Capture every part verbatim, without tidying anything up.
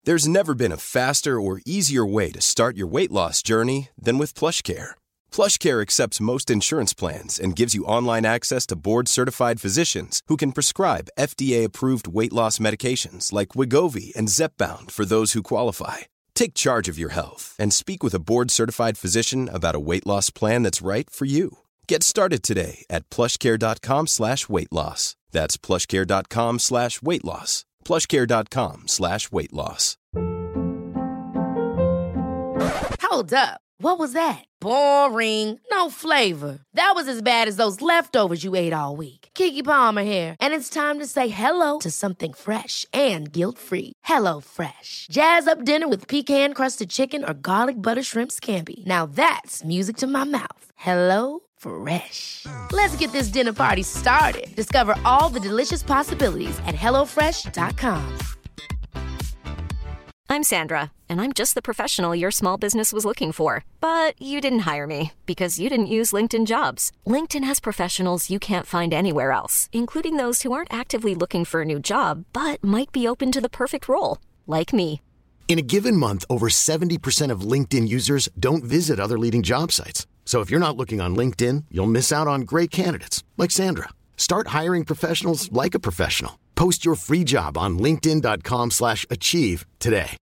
There's never been a faster or easier way to start your weight loss journey than with PlushCare. PlushCare accepts most insurance plans and gives you online access to board-certified physicians who can prescribe F D A-approved weight loss medications like Wegovy and Zepbound for those who qualify. Take charge of your health and speak with a board-certified physician about a weight loss plan that's right for you. Get started today at plushcare.com slash weight loss. That's plushcare.com slash weight loss. plushcare.com slash weight loss. Hold up. What was that? Boring. No flavor. That was as bad as those leftovers you ate all week. Keke Palmer here, and it's time to say hello to something fresh and guilt-free. Hello Fresh. Jazz up dinner with pecan-crusted chicken or garlic butter shrimp scampi. Now that's music to my mouth. Hello Fresh. Let's get this dinner party started. Discover all the delicious possibilities at hello fresh dot com. I'm Sandra, and I'm just the professional your small business was looking for. But you didn't hire me because you didn't use LinkedIn Jobs. LinkedIn has professionals you can't find anywhere else, including those who aren't actively looking for a new job, but might be open to the perfect role, like me. In a given month, over seventy percent of LinkedIn users don't visit other leading job sites. So if you're not looking on LinkedIn, you'll miss out on great candidates, like Sandra. Start hiring professionals like a professional. Post your free job on linkedin.com slash achieve today.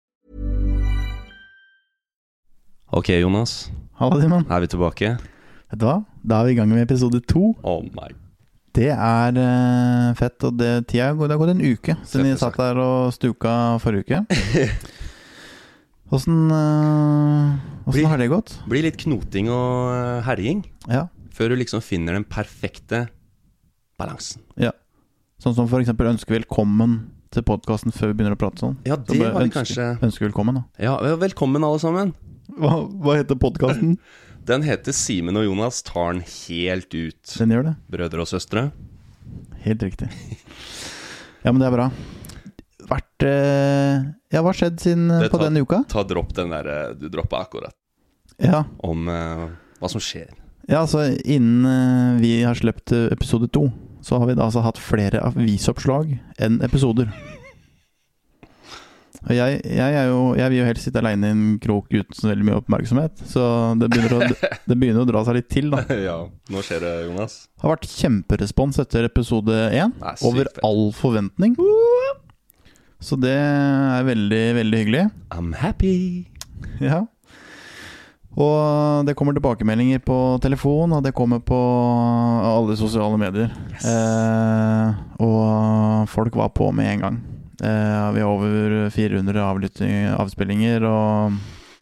Ok, Jonas. Hallo, Simon. Er vi tilbake? Vet du hva? Da er vi I gang med episode to. Oh my. Det er uh, fett, og det, tida, det har gått en uke siden vi satt der og stuka forrige uke. Hvordan, uh, hvordan blir, har det gått? Blir litt knoting og uh, herjing. Ja. Før du liksom finner den perfekte balansen. Ja. Sånn som for eksempel ønske velkommen til podcasten før vi begynner å prate sånn. Ja, det var det ønske, kanskje. Ønske velkommen da. Ja, velkommen alle sammen. Hva, hva heter podcasten? Den heter Simen og Jonas tar den helt ut. Den gjør det. Brødre og søstre. Helt riktig. Ja, men det er bra. Vært, eh, ja, hva har skjedd siden det på ta, denne uka? Ta dropp den der du droppet akkurat. Ja. Om uh, hva som skjer. Ja, altså innen uh, vi har slept episode to, så har vi da altså hatt flere avisoppslag enn episoder. Og jeg, jeg, er jo, jeg vil jo helst sitte alene I en krok uten så veldig mye oppmerksomhet, så det begynner, å, det begynner å dra seg litt til da. Ja, nå skjer det, Jonas. Det har vært kjemperespons etter episode én, over all forventning. Så det er veldig, veldig hyggelig. I'm happy. Ja. Og det kommer tilbakemeldinger på telefon, og det kommer på alle sosiale medier. Yes. Eh, og folk var på med en gang. Eh, vi har over fire hundre avspillinger og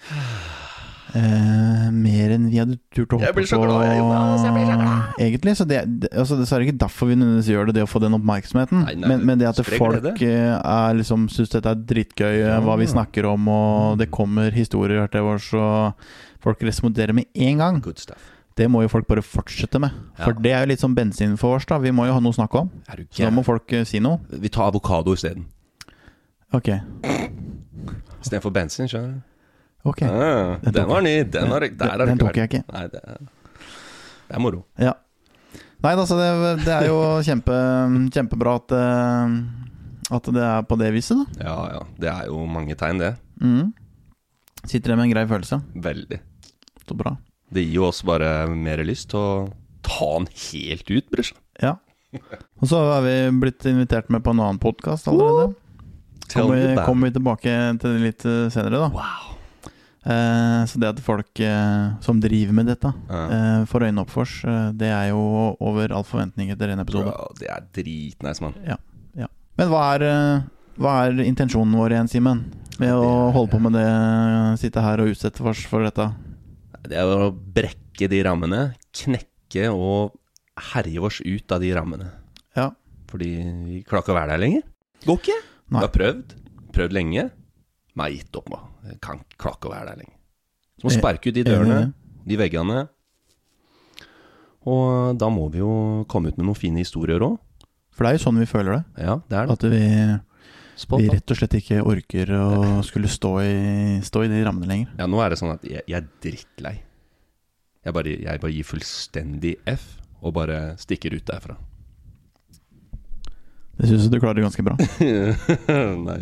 eh, mer enn vi hadde turt å hoppe på. Jeg blir så glad, Jonas, jeg blir så glad. Egentlig, så det, det, altså, det er ikke derfor vi nødvendigvis gjør det, det å få den oppmerksomheten. Nei, nei, men, men det at det folk det. Er liksom, synes dette er dritgøy, ja. Hva vi snakker om, og det kommer historier til oss, og folk responderer med en gang. Good stuff. Det må jo folk bare fortsette med. For ja. Det er jo litt som bensin for oss da. Vi må jo ha noe å snakke om. Så da må folk uh, si noe. Vi tar avokado I stedet. Ok. I stedet for bensin, skjønner du? Ok. Ah, den, den var ny. Den, har, der den, den tok jeg ikke. Nei, det er, det er moro. Ja. Nei, altså det, det er jo kjempe, kjempebra at, at det er på det viset da. Ja, ja. Det er jo mange tegn, det. Mhm. Sitter det med en grei følelse? Veldig. Så bra. Det gir jo oss bare mer lyst til å ta den helt ut, bror. Ja. Og så har vi blitt invitert med på en annen podcast allerede. Kommer vi, kommer vi tilbake til det litt senere da. Wow. Eh, så det at folk eh, som driver med dette eh, får øynene opp for oss, eh, det er jo over all forventning etter en episode. Bro, det er dritnice, man. Ja, ja. Men hva er, hva er intensjonen vår igjen, Simen? Med å holde på med det, sitte her og utsette oss for dette? Det er å brekke de rammene, knekke og herje oss ut av de rammene. Ja. Fordi vi klarer ikke å være der lenger. Går ikke. Nei. Vi har prøvd, prøvd lenge. Men jeg har gitt opp, man. Jeg kan klarer ikke å være der lenger. Så må sparke ut de dørene, de veggene. Og da må vi jo komme ut med noen fine historier også. For det er jo sånn vi føler det. Ja, det er det. At vi... Vi rett og slett ikke orker å skulle stå i, stå i de rammene lenger. Ja, nå er det sånn at jeg, jeg er drittlei. Jeg bare, jeg bare gir fullstendig F og bare stikker ut derfra. Det synes jeg du klarer det ganske bra. Nice.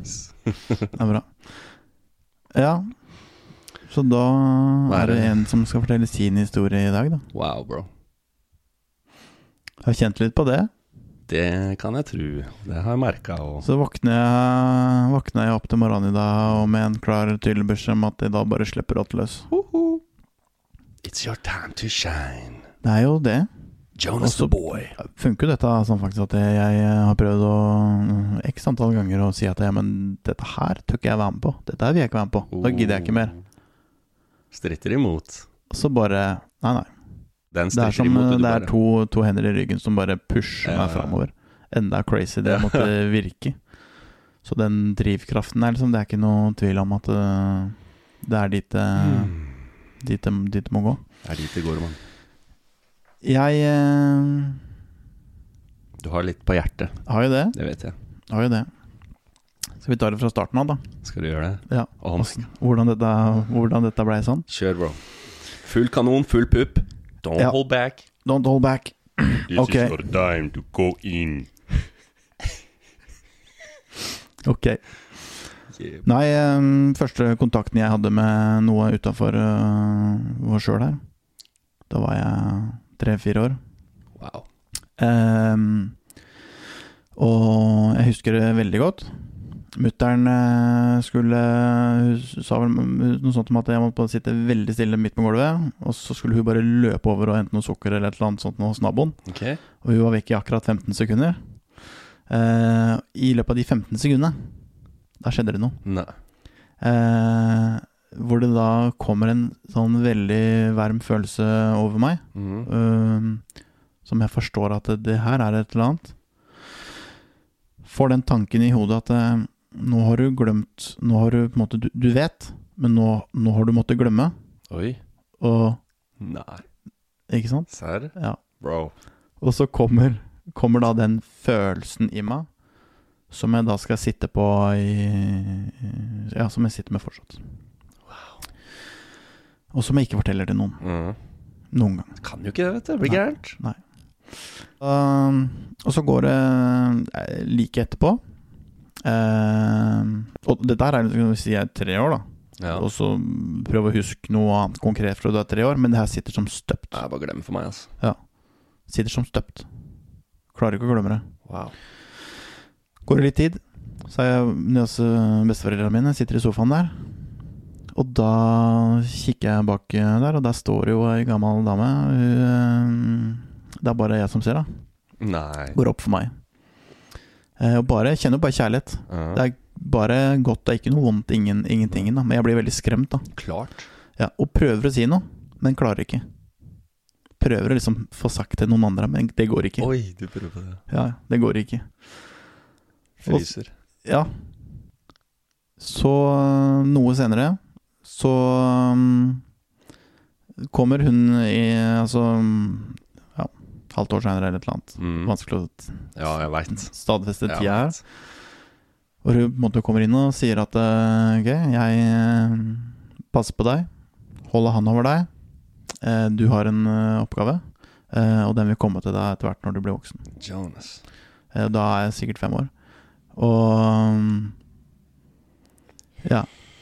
Det er bra. Ja, så da er, er det en som skal fortelle sin historie i dag da. Wow, bro. Jeg har kjent litt på det. Det kan jeg tro. Det har jeg merket. Og... Så våkner jeg, våkner jeg opp til morgenen i dag og med en klar tydelig beskjed om at jeg da bare slipper rått løs. Uh-huh. It's your time to shine. Det er jo det. Jonas Også the boy. Funker dette sånn faktisk at jeg, jeg har prøvd å x antall ganger å si at jeg, men dette her tør ikke jeg være med på. Dette her vil jeg ikke være med på. Da gidder jeg ikke mer. Stritter imot. Så bare, nei nei. Den det er som imot, det er to, to hender i ryggen som bare pusher ja, meg fremover. Enda crazy det måtte virke. Så den drivkraften er liksom, det er ikke noe tvil om at uh, det er dit, uh, mm. dit, dit det må gå. Det er dit det går, mann. Jeg uh, Du har litt på hjertet. Har jo det. Det vet jeg. Har jo det. Skal vi ta det fra starten av da? Skal du gjøre det? Ja. Hvordan dette, hvordan dette ble sånn? Kjør, bro. Full kanon, full pupp. Don't ja. hold back. Don't hold back. This okay. is your time to go in. Ok. Yeah. Nei, um, første kontakten jeg hadde med noe utenfor uh, vår selv her, da var jeg tre-fire år. Wow. Um, og jeg husker det veldig godt. Mutteren skulle, hun sa vel noe sånt om at jeg måtte sitte veldig stille midt på gulvet, og så skulle hun bare løpe over og hente noe sukker eller et eller annet sånt hos naboen. Okay. Og hun var vekk i akkurat femten sekunder. Uh, I løpet av de femten sekundene, da skjedde det noe. Nei. Uh, hvor det da kommer en sånn veldig varm følelse over meg, mm. uh, som jeg forstår at det, det her er et eller annet. Får den tanken i hodet at uh, nå har du glemt, nå har du på en måte, du, du vet, men nå, nå har du måttet glemme. Oi. Og... Nei. Ikke sant? Serr? Ja. Bro. Og så kommer, kommer da den følelsen i meg, som jeg da skal sitte på i... Ja, som jeg sitter med fortsatt. Wow. Og som jeg ikke forteller til noen. Mm. Noen gang. Kan jo ikke det, vet du. Det blir gærent. Nei. Uh, og så går det uh, like etterpå. Uh, og det der er, skal vi si, jeg er tre år da. Ja. Og så prøve å huske noe annet konkret fra du er tre år, men det her sitter som støpt. Det er bare glem for meg, altså. Ja. Sitter som støpt. Klarer ikke å glemme det. Wow. Går det litt tid, så er jeg nede hos besteforeldrene mine, sitter i sofaen der. Og da kikker jeg bak der, og der står jo en gammel dame. Det er bare jeg som ser da. Nei. Går opp for meg. Og bare, jeg kjenner bare kjærlighet. Uh-huh. Det er bare godt, det er ikke noe vondt, ingen, ingenting da. Men jeg blir veldig skremt da. Klart. Ja, og prøver å si noe, men klarer ikke. Prøver å liksom få sagt til noen andre, men det går ikke. Oi, du prøver på det. Ja, det går ikke. Fryser. Og, ja. Så noe senere, så um, kommer hun i, altså, ja, halvt år senere eller et eller annet. Mm. Vanskelig å ja, jeg vet. stadfeste tida her. Og hun på en måte kommer inn og sier at ok, jeg passer på deg, holder han over deg, du har en oppgave, og den vil komme til deg etter hvert når du blir voksen. Jonas. Da er jeg sikkert fem år. Og ja,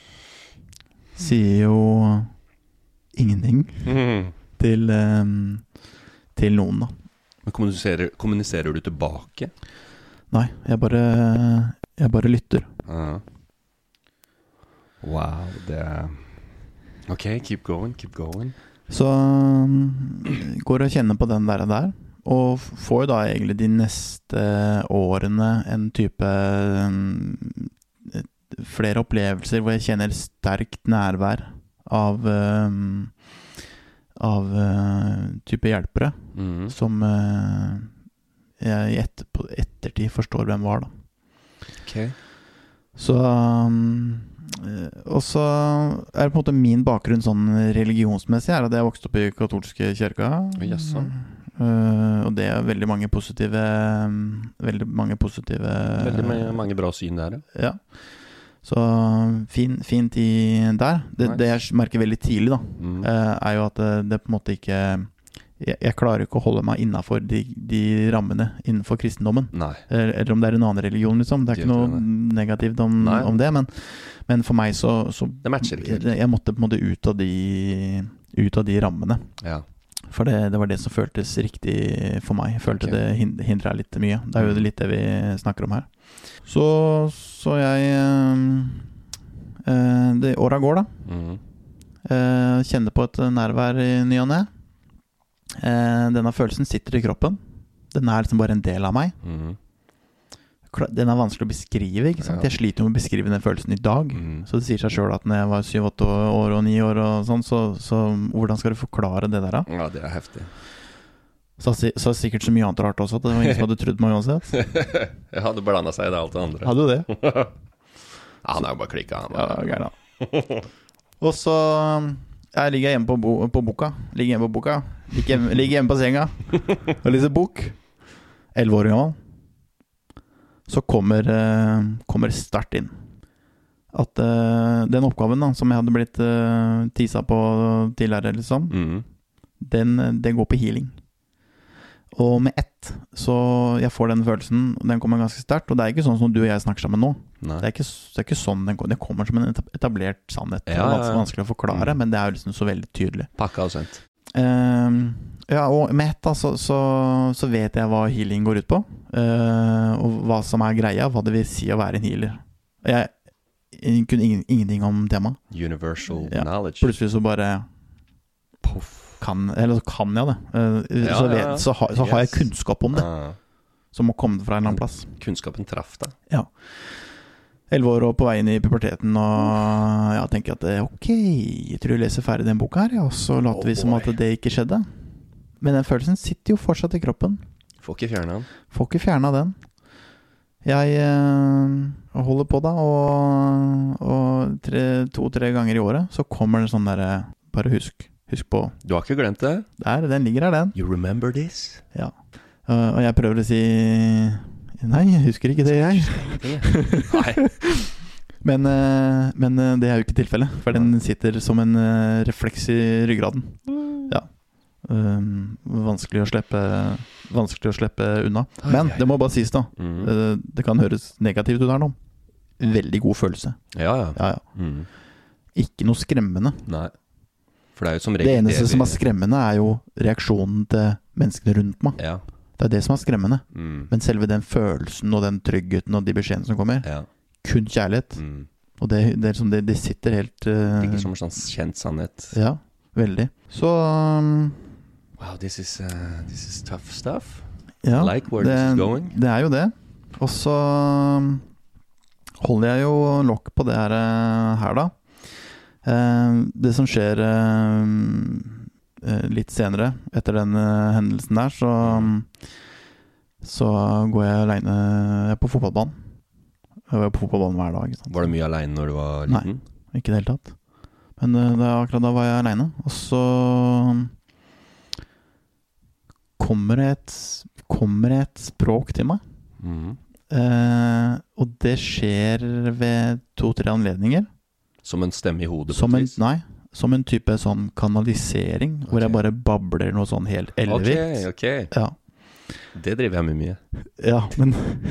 sier jo ingenting mm. til, um, til noen da. Men kommuniserer, kommuniserer du tilbake? Nei, jeg bare, jeg bare lytter. Uh-huh. Wow, det er... Ok, keep going, keep going. Så um, går og kjenner på den der der, og får jo da egentlig de neste årene en type um, flere opplevelser hvor jeg kjenner sterkt nærvær av um, av uh, type hjelpere mm. som uh, jeg i etter, på ettertid forstår hvem var da. Ok. Så um, og så er det på en måte min bakgrunn sånn religionsmessig er at jeg vokste opp i katolske kirka. Yes, så. Uh, og det er veldig mange positive veldig mange positive veldig mange, mange bra syn der, ja. Så fin, fint i der det, nice. Det jeg merker veldig tidlig da mm. uh, er jo at det, det på en måte ikke jeg, jeg klarer ikke å holde meg innenfor de, de rammene innenfor kristendommen. Nei. Eller, eller om det er en annen religion, liksom. Det er ikke noe negativt om, om det, men, men for meg så, så det matcher ikke. Jeg, jeg måtte på en måte ut av de, ut av de rammene. Ja. For det, det var det som føltes riktig for meg. Jeg følte okay. det hindret litt mye. Det er jo litt det vi snakker om her. Så, så jeg øh, det året går da. Mhm. Uh, kjenner på et nærvær i ny og ne. uh, Denne følelsen sitter i kroppen. Den er liksom bare en del av meg. mm. Den er vanskelig å beskrive, ikke sant? Ja. Jeg sliter jo med å beskrive den følelsen i dag. mm. Så det sier seg selv at når jeg var syv åtte år og ni år og sånn, så, så hvordan skal du forklare det der da? Ja, det er heftig. Så, så sikkert så mye annet rart også, at det var ingen som hadde trodd meg uansett. Ja, det blandet seg i det alt det andre. Hadde du det? Ja, han er jo bare klikket han. Ja, gærent. Og så jeg ligger hjemme på, bo, på boka Ligger hjemme på boka Ligger hjemme, ligger hjemme på senga og leser bok. elleve år gammel. Så kommer, uh, kommer start inn at uh, den oppgaven da, som jeg hadde blitt uh, tisa på tidligere liksom, mm. den, den går på healing. Og med ett så jeg får den følelsen, den kommer ganske sterkt. Og det er ikke sånn som du og jeg snakker sammen nå. Det er, ikke, det er ikke sånn den kommer. Det kommer som en etablert sannhet. Ja, ja, ja. Det er vanskelig å forklare, mm. men det er jo liksom så veldig tydelig. Pakka og sent. uh, Ja, og med ett da, så, så, så vet jeg hva healing går ut på, uh, og hva som er greia, hva det vil si å være en healer. Jeg, jeg kunne ingen, ingenting om temaet. Universal ja, knowledge. Plutselig så bare Puff. Kan, eller så kan jeg det uh, ja, så, vet, så, ha, så yes. har jeg kunnskap om det uh. som må komme fra en eller annen plass. Kunnskapen traff deg. Ja. elleve år og på vei inn i puberteten, og jeg tenker at ok, jeg tror jeg leser ferdig den boka her, ja, og så later oh, vi som boy. At det ikke skjedde. Men den følelsen sitter jo fortsatt i kroppen. Får ikke fjerne den. Får ikke fjerne den. Jeg uh, holder på da, og, og tre, to-tre ganger i året så kommer det sånn der, bare husk Husk på. Du har ikke glemt det? Der, den ligger her, den. You remember this? Ja. Uh, og jeg prøver å si nei, jeg husker ikke det, jeg. Nei. men, uh, men uh, det er jo ikke tilfellet, for den sitter som en uh, refleks i ryggraden. Ja. Um, vanskelig å slippe vanskelig å slippe unna. Men det må bare sies da. Mm. Uh, det kan høres negativt ut her nå. Veldig god følelse. Ja, ja. ja, ja. Mm. Ikke noe skremmende. Nei. For det er jo som regel det eneste det vi... som er skremmende er jo reaksjonen til menneskene rundt meg. Ja. Det er det som er skremmende. Mm. Men selve den følelsen og den tryggheten og de beskjedene som kommer, ja. Kun kjærlighet. Mm. Og det, det, er som det, det sitter helt uh... Det er ikke som en sånn kjent sannhet. Ja, veldig. Så um... wow, this is, uh, this is tough stuff. Ja, I like where det, this is going. Det er jo det. Og så um, holder jeg jo lokk på det her, her da. Uh, det som skjer uh, uh, litt senere etter den uh, hendelsen der, så, um, så går jeg alene jeg er på fotballbanen. Jeg var på fotballbanen hver dag. Sant? Var du mye alene når du var liten? Nei, ikke det hele tatt. Men uh, det, akkurat da var jeg alene. Og så kommer et, kommer et språk til meg. Mm. Uh, og det skjer ved to-tre anledninger. Som en stemme i hodet? Som en, nei, som en type sånn kanalisering, okay. Hvor jeg bare babler noe sånn helt ellevilt. Ok, ok. Ja. Det driver jeg med mye. Ja, men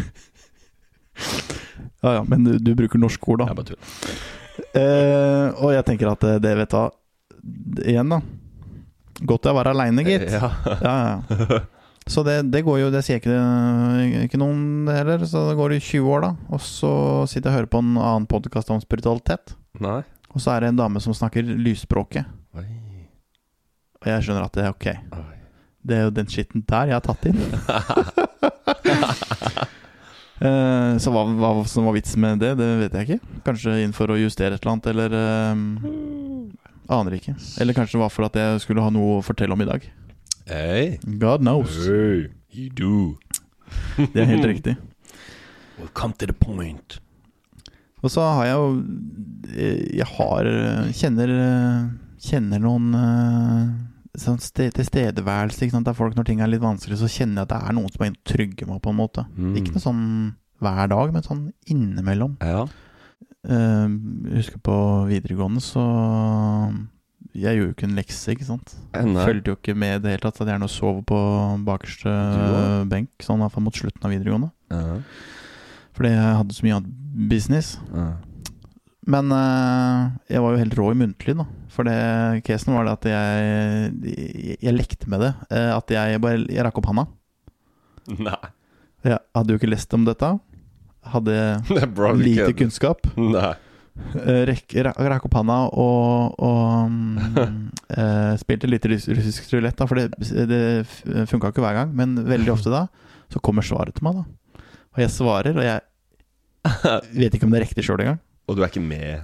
ja, ja, men du, du bruker norsk ord da. Jeg bare tuller. Uh, og jeg tenker at det, det vet jeg igjen da. Godt jeg var alene, gitt. Ja. Ja, ja. Så det, det går jo, det sier ikke, ikke noen heller, så det går i tjue år da. Og så sitter jeg og hører på en annen podcast om spiritualitet. Nei. Og så er det en dame som snakker lysspråket. Oi. Og jeg skjønner at det er ok. Oi. Det er jo den skitten der jeg har tatt inn. uh, så hva, hva som var vits med det, det vet jeg ikke. Kanskje innenfor å justere et eller annet, eller uh, aner ikke. Eller kanskje det var for at jeg skulle ha noe å fortelle om i dag. Hey. God knows. Hey, you do. Det er helt riktig. Well, come to the point. Og så har jeg jo Jeg har Kjenner Kjenner noen sånn sted, tilstedeværelse, ikke sant? Der folk, når ting er litt vanskelig, så kjenner jeg at det er noen som er trygge meg på en måte. Mm. Ikke noe sånn hver dag, men sånn innimellom. Ja. uh, Jeg husker på videregående, så jeg gjorde jo ikke en lekse, ikke sant? Nei. Følte jo ikke med det hele tatt. At jeg gjerne sov på bakerste benk, sånn i hvert fall mot slutten av videregående. Uh-huh. Fordi jeg hadde så mye annet business. Uh-huh. Men uh, jeg var jo helt rå i muntlig da. For det, casen var det at jeg, jeg, jeg lekte med det. Uh, at jeg bare, jeg rakk opp handa. Nei. Jeg hadde jo ikke lest om dette. Hadde lite kunnskap. Nei. Uh, rekk, rakk opp handa og, og um, uh, spilte litt russisk roulette da. For det, det funket ikke hver gang. Men veldig ofte da, så kommer svaret til meg da. Og jeg svarer, og jeg vet ikke om det er riktig selv engang. Og du er ikke med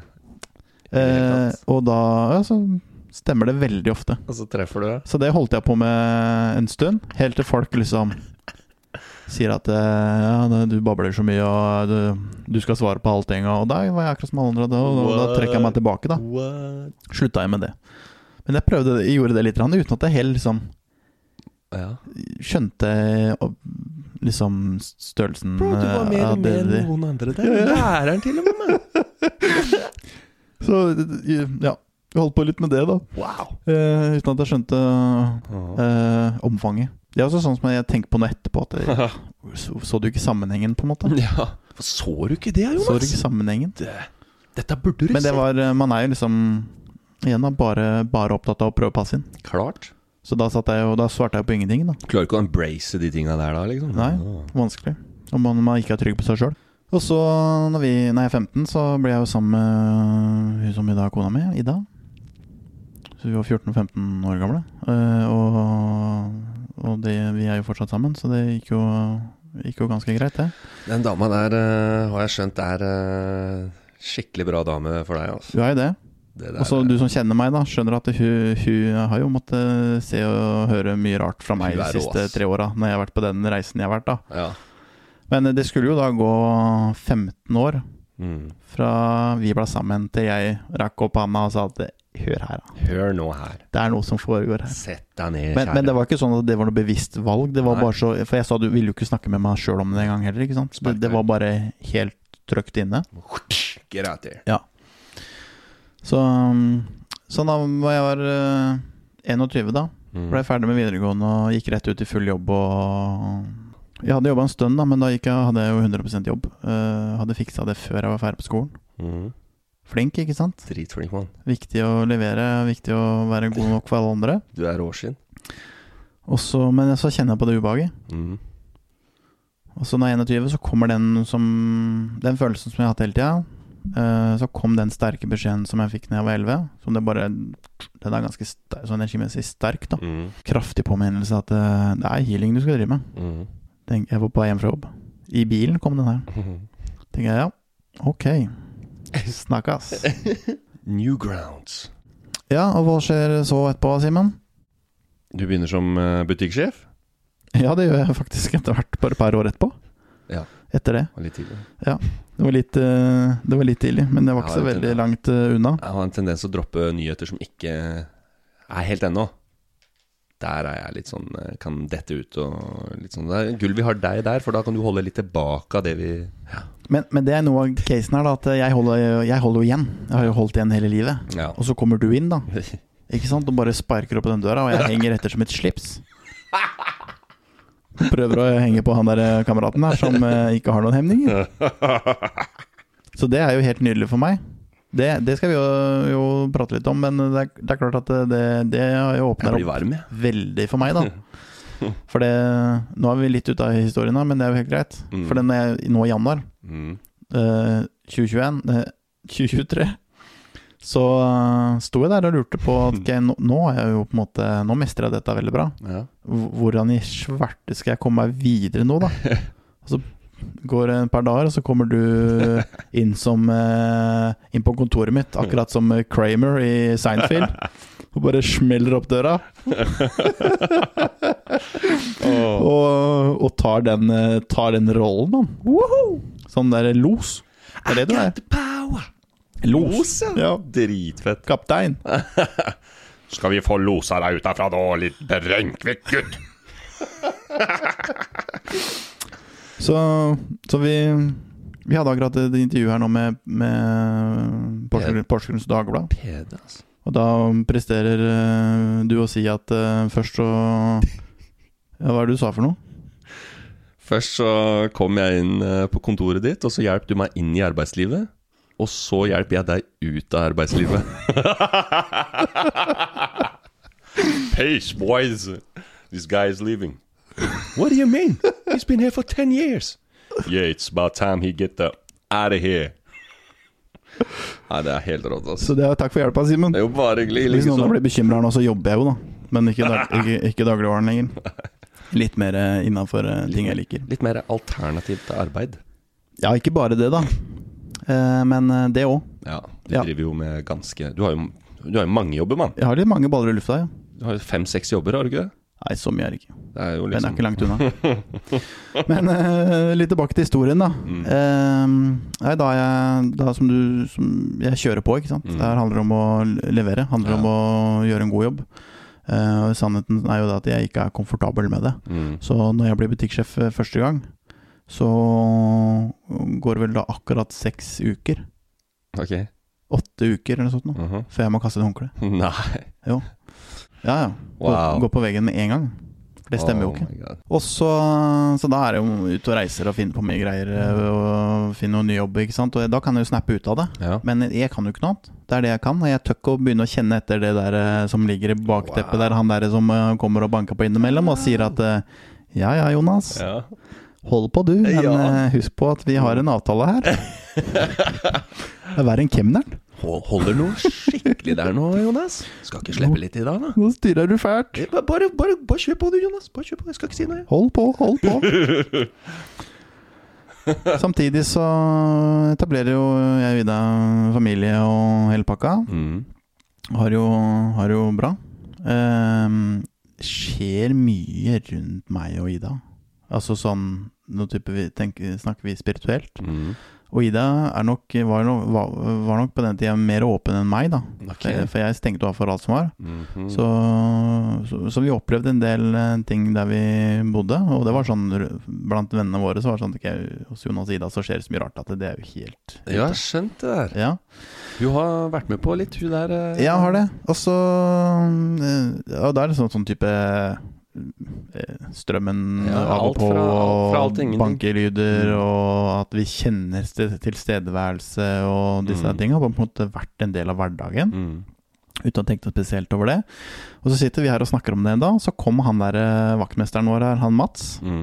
eh, og da ja, så stemmer det veldig ofte. Og så treffer du det. Så det holdt jeg på med en stund, helt til folk liksom sier at ja, du babler så mye og du, du skal svare på allting. Og da var jeg akkurat som alle andre, og, og da trekker jeg meg tilbake da. What? Sluttet jeg med det. Men jeg prøvde, jeg gjorde det litt uten at jeg helt liksom ja. skjønte liksom størrelsen. Bro, du var mer uh, med enn noen andre der. Ja, ja. Læreren til og med meg. Så ja, vi holdt på litt med det da. Wow. Uh, uten at jeg skjønte uh, omfanget. Det er også sånn som jeg tenker på noe etterpå at jeg, så, så du ikke sammenhengen på en måte? Ja, for så du ikke det, Jonas? Så du ikke sammenhengen? Det, dette burde du se. Men det var, man er jo liksom igjen da, bare, bare opptatt av å prøve å passe inn. Klart. Så da, satt jeg, og da svarte jeg på ingenting da. Klarer ikke å embrace de tingene der da, liksom? Nei, vanskelig. Om man, man ikke er trygg på seg selv. Og så, når, vi, når jeg er femten, så ble jeg jo sammen med hun som i dag er kona mi, Ida. Så vi var fjorten og femten år gamle. Uh, og og det, vi er jo fortsatt sammen, så det gikk jo, gikk jo ganske greit, det. Den dama der, uh, har jeg skjønt, er uh, skikkelig bra dame for deg, altså. Du er jo det. Og så du som kjenner meg da, skjønner at hun, hun har jo måttet se og høre mye rart fra meg de siste tre årene, når jeg har vært på den reisen jeg har vært da. Ja. Men det skulle jo da gå femten år mm. fra vi ble sammen til jeg rakk opp handa og sa at hør her da. Hør nå her. Det er noe som foregår her. Sett deg ned, men, men det var ikke sånn at det var noe bevisst valg. Det var Nei. Bare så, for jeg sa du ville jo ikke snakke med meg selv om det en gang heller, ikke sant? Det, det var bare helt trykt inne. Get out there. Ja. Så, så da var jeg var uh, enogtyve da. Mm. Ble ferdig med videregående og gikk rett ut i full jobb. Og jeg hadde jobbet en stund da, men da gikk jeg, hadde jeg jo hundre prosent jobb. Uh, hadde fikset det før jeg var ferdig på skolen. Mm. Flink, ikke sant? Dritflink, mann. Viktig å levere, viktig å være god nok for alle andre. Du er råskinn. Og så, men så kjenner jeg på det ubehaget. Mm. Og så når jeg er enogtyve, så kommer den, som, den følelsen som jeg har hatt hele tiden. Uh, så kom den sterke beskjeden som jeg fikk når jeg var elleve. Som det bare, den er ganske sterk, sånn energimessig sterk da. Mm. Kraftig påminnelse at uh, det er healing du skal drive med. Mm. Tenk, jeg var på vei hjem fra jobb. I bilen kom den her. Mm. Tenker jeg, ja, ok. Snakkes. New grounds. Ja, og hva skjer så etterpå, Simon? Du begynner som uh, butikksjef? Ja, det gjør jeg faktisk etter hvert, bare et par år etterpå. Ja. Etter det. Det var litt tidlig. Ja, det var litt, uh, det var litt tidlig, men det var ikke så veldig langt uh, unna. Jeg har en tendens til å droppe nyheter som ikke er helt ennå. Der er jeg litt sånn, kan dette ut og litt sånn. Det er gull vi har deg der, for da kan du holde litt tilbake av det vi... Ja. Men, men det er noe av casen her da, at jeg holder, jeg holder jo igjen. Jeg har jo holdt igjen hele livet. Ja. Og så kommer du inn da. Ikke sant? Og bare sparker opp på den døra, og jeg henger etter som et slips. Prøver å henge på han der kameraten her, som eh, ikke har noen hemninger. Så det er jo helt nydelig for meg. Det, det skal vi jo, jo prate litt om, men det er, det er klart at det, det har jo åpnet opp veldig for meg da. For det, nå er vi litt ute av historien da, men det er jo helt greit. Mm. For den er nå i januar mm. uh, tjue tjueen, uh, tjue tjuetre, så uh, sto jeg der og lurte på at okay, nå, nå er jeg jo på en måte, nå mestrer jeg dette veldig bra. Ja. Hvordan i svarte skal jeg komme meg videre nå da? Og så går det en par dager, og så kommer du inn som uh, inn på kontoret mitt, akkurat som Kramer i Seinfeld, og bare smeller opp døra. oh. og, og tar den, tar den rollen, man. Woohoo! Sånn der los. Det er det du er. Los, los ja. ja. Dritfett. Kaptein. Skal vi få losa deg ut derfra da, litt Brenkvik, gutt? Så, så vi, vi hadde akkurat et intervju her nå med, med Porsgrunns Dagblad. Pede, altså. Og da presterer uh, du å si at uh, først så ja, hva er det du sa for noe? Først så kom jeg inn uh, på kontoret ditt, og så hjelp du meg inn i arbeidslivet. Og så hjelper jeg deg ut av arbeidslivet. Peace, boys. This guy is leaving. What do you mean? He's been here for ten years. Yeah, it's about time he get the out of here. Nei, det er helt rått, altså. Så det er takk for hjelpa, Simon. Det er jo bare hyggelig. Hvis noen blir bekymret nå, så jobber jeg jo da. Men ikke, dag, ikke, ikke dagligvaren lenger. Litt mer innenfor ting jeg liker. Litt mer alternativt arbeid. Ja, ikke bare det da. Eh, men det også. Ja, du ja. driver jo med ganske... Du har jo, du har jo mange jobber, mann. Jeg har litt mange baller i lufta, ja. Du har jo fem-seks jobber, har du ikke det? Nei, så mye er det ikke. Det er jo liksom... Den er ikke langt unna. Men uh, litt tilbake til historien da. Mm. Uh, nei, da, jeg, da som du som jeg kjører på, ikke sant? Mm. Det handler om å levere, handler ja. om å gjøre en god jobb. Uh, sannheten er jo da at jeg ikke er komfortabel med det. Mm. Så når jeg blir butikksjef første gang, så går det vel da akkurat seks uker. Ok. Åtte uker eller noe sånt nå, uh-huh. før jeg må kaste et håndkle. Nei. Jo. Ja, ja. Gå, wow. gå på veggen med en gang. For det stemmer oh jo ikke. Og så, så da er det jo ut og reiser og finne på mye greier og finne noen nye jobber, ikke sant? Og da kan jeg jo snappe ut av det. Ja. Men jeg kan jo ikke noe annet. Det er det jeg kan. Og jeg tør ikke å begynne å kjenne etter det der som ligger i bakteppet wow. der. Han der som kommer og banker på innimellom og sier at ja, ja, Jonas. Ja. Hold på du, men ja. husk på at vi har en avtale her. Det er verre enn kemneren. Holder noe skikkelig der nå, Jonas? Skal ikke slippe litt i dag, da? Nå styrer du fælt. Bare, bare, bare, bare kjør på du, Jonas. Bare kjør på, jeg skal ikke si noe. Hold på, hold på. Samtidig så etablerer jo jeg Ida familie og hele pakka. Mm. Har jo, har jo bra. Um, skjer mye rundt meg og Ida. Altså sånn, nå type vi tenker, snakker vi spirituelt. Mm. Og Ida er nok, var, no, var, var nok på den tiden mer åpen enn meg da. Okay. For, for jeg stengte av for alt som var. Mm-hmm. Så, så, så vi opplevde en del ting der vi bodde. Og det var sånn, blant vennene våre så var det sånn, okay, hos Jonas og Ida så skjer det så mye rart at det, det er jo helt... Ja, jeg har skjønt det der. Ja. Du har vært med på litt, hun der... Uh... Jeg har det. Og så, og da er det sånn, sånn type... strømmen ja, av og på fra, fra alt, bankelyder mm. og at vi kjenner sted, tilstedeværelse og disse mm. tingene har på en måte vært en del av hverdagen mm. uten å tenke spesielt over det. Og så sitter vi her og snakker om det en dag, så kom han der vaktmesteren vår her, han Mats mm.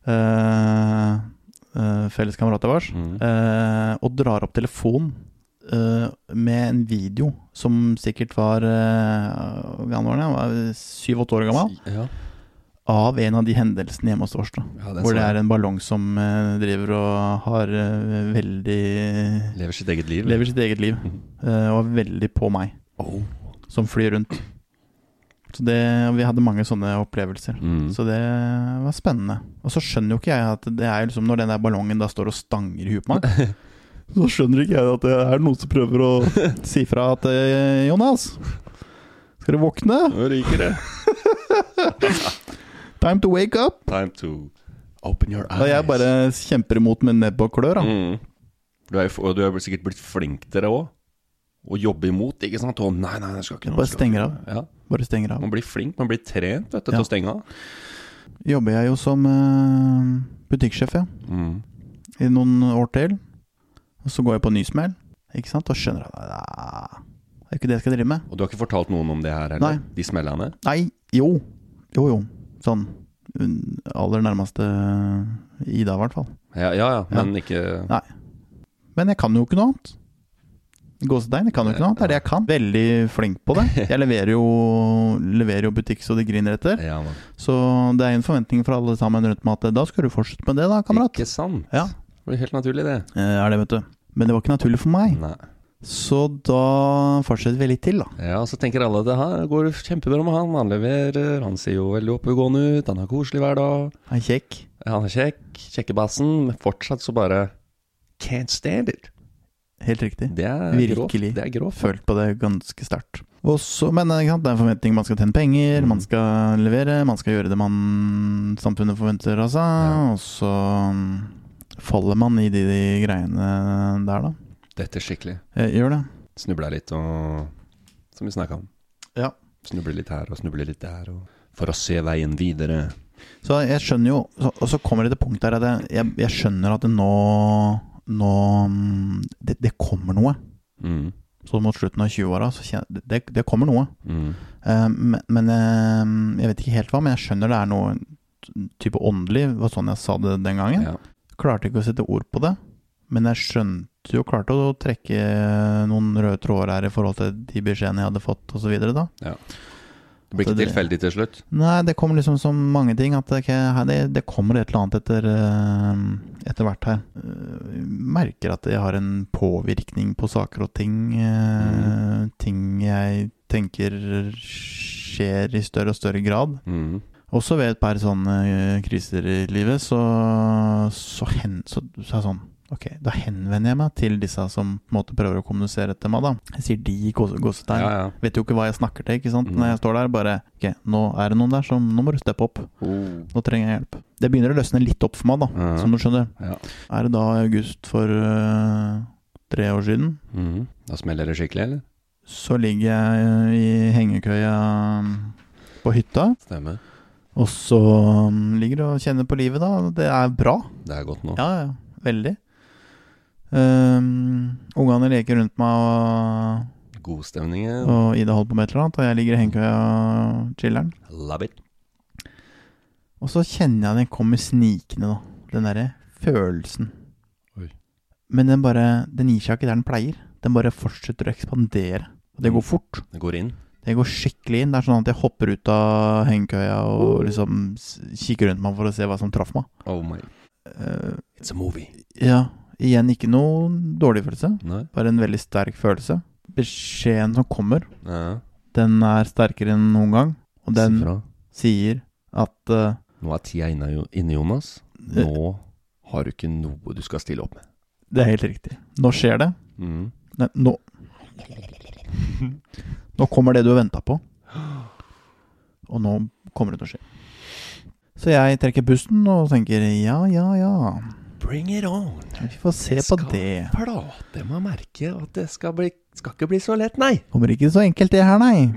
uh, uh, felleskamerat av oss mm. uh, og drar opp telefon uh, med en video som sikkert var uh, gammel, han var syv-åtte år gammel ja. av en av de hendelsene hjemme hos oss da. Ja, hvor det er en ballong som uh, driver og har uh, veldig... Lever sitt eget liv. Lever sitt eget liv. Uh, og veldig på meg. Oh. Som flyr rundt. Så det, vi hadde mange sånne opplevelser. Mm. Så det var spennende. Og så skjønner jo ikke jeg at det er liksom når den der ballongen da står og stanger i huet på meg. Så skjønner ikke jeg at det er noen som prøver å si fra at Jonas, skal du våkne? Nå ryker det. Time to wake up. Time to open your eyes. Og jeg bare kjemper imot med nebb og klør da. Mm. Du er, og du er sikkert blitt flink til det også. Og jobbe imot, ikke sant? Å nei, nei, jeg skal ikke. Bare stenger av. Ja. Bare stenger av. Man blir flink, man blir trent vet du, ja. til å stenge av. Jobber jeg jo som uh, butikksjef, ja. Mm. I noen år til. Og så går jeg på nysmell, ikke sant? Og skjønner at det er ikke det jeg skal drive med. Og du har ikke fortalt noen om det her, eller? Nei. De smellene? Nei, jo. Jo, jo. Sånn aller nærmeste Ida i hvert fall. Ja, ja, ja. men ja. ikke... Nei. Men jeg kan jo ikke noe annet. Gåsetegn, jeg kan jo ikke noe annet. Det er det jeg kan. Veldig flink på det. Jeg leverer jo, leverer jo butikk så det griner etter. Ja, man. Så det er en forventning fra alle sammen rundt meg at da skal du fortsette med det da, kamerat. Ikke sant? Ja. Det blir helt naturlig det. Eh, er det, vet du. Men det var ikke naturlig for meg. Nei. Så da fortsetter vi litt til da. Ja, så tenker alle at det her går kjempebra med han. Han leverer, han ser jo veldig oppegående ut, han er koselig hver dag. Han er kjekk. Han er kjekk, kjekkebassen, men fortsatt så bare can't stand it. Helt riktig. Det er virkelig. Det er grovt. Følt på det ganske sterkt. Og så, men det er en forventning, man skal tjene penger, mm. man skal levere, man skal gjøre det man samfunnet forventer av seg, ja. Og så faller man i de, de greiene der da. Dette er skikkelig. Jeg gjør det. Snubler litt og som vi snakket om. Ja. Snubler litt her og snubler litt der, og for å se veien videre. Så jeg skjønner jo, så, og så kommer det til punkt der at jeg, jeg, jeg skjønner at det nå, nå det, det kommer noe. Mm. Så mot slutten av tjue-åra, så kjenner, det, det kommer noe. Mm. Uh, men men uh, jeg vet ikke helt hva, men jeg skjønner det er noe type åndelig, det var sånn jeg sa det den gangen. Ja. Klarte ikke å sette ord på det, men jeg skjønte jo klart å trekke noen røde tråder her i forhold til de beskjedene jeg hadde fått og så videre da. Ja. Det blir ikke det, tilfeldig til slutt? Nei, det kommer liksom som mange ting, at okay, det, det kommer et eller annet etter, etter hvert her. Jeg merker at jeg har en påvirkning på saker og ting, mm. ting jeg tenker skjer i større og større grad. Mm. Også ved et par sånne kriser i livet, så, så, hen, så, så er det sånn, ok, da henvender jeg meg til disse som på en måte prøver å kommunisere til meg da. Jeg sier de i gåsetegn. Ja, ja. Vet jo ikke hva jeg snakker til, ikke sant? Mm. Når jeg står der, bare, ok, nå er det noen der som, nå må du steppe opp. Oh. Nå trenger jeg hjelp. Det begynner å løsne litt opp for meg da, uh-huh. som du skjønner. Ja. Er det da august for uh, tre år siden? Mm. Da smeller det skikkelig, eller? Så ligger jeg i hengekøya på hytta. Stemmer. Og så um, ligger og kjenner på livet da. Det er bra. Det er godt nå. Ja, ja, veldig. Um, ungene leker rundt meg og god stemning. Og Ida holder på med et eller annet, og jeg ligger i hengekøya og chilleren. Love it. Og så kjenner jeg den kommer snikende da. Den der følelsen. Oi. Men den bare, den gir seg ikke der den pleier. Den bare fortsetter å ekspandere. Og det går fort. Det går inn. Det går skikkelig inn. Det er sånn at jeg hopper ut av hengekøya og liksom kikker rundt meg for å se hva som traff meg. Oh my. Uh, It's a movie. Ja, igjen ikke noe dårlig følelse. Nei. Bare en veldig sterk følelse. Beskjeden som kommer, ja. Den er sterkere enn noen gang. Og den sier at uh, nå er tida inne, inne, Jonas. Nå har du ikke noe du skal stille opp med. Det er helt riktig. Nå skjer det. Mm. Nei, nå Nå kommer det du har ventet på. Og nå kommer det til å skje. Så jeg trekker pusten og tenker, ja, ja, ja. Bring it on. Vi får se på det. Jeg skal prate med merke at det skal, bli, skal ikke bli så lett, nei. Kommer ikke så enkelt det her, nei.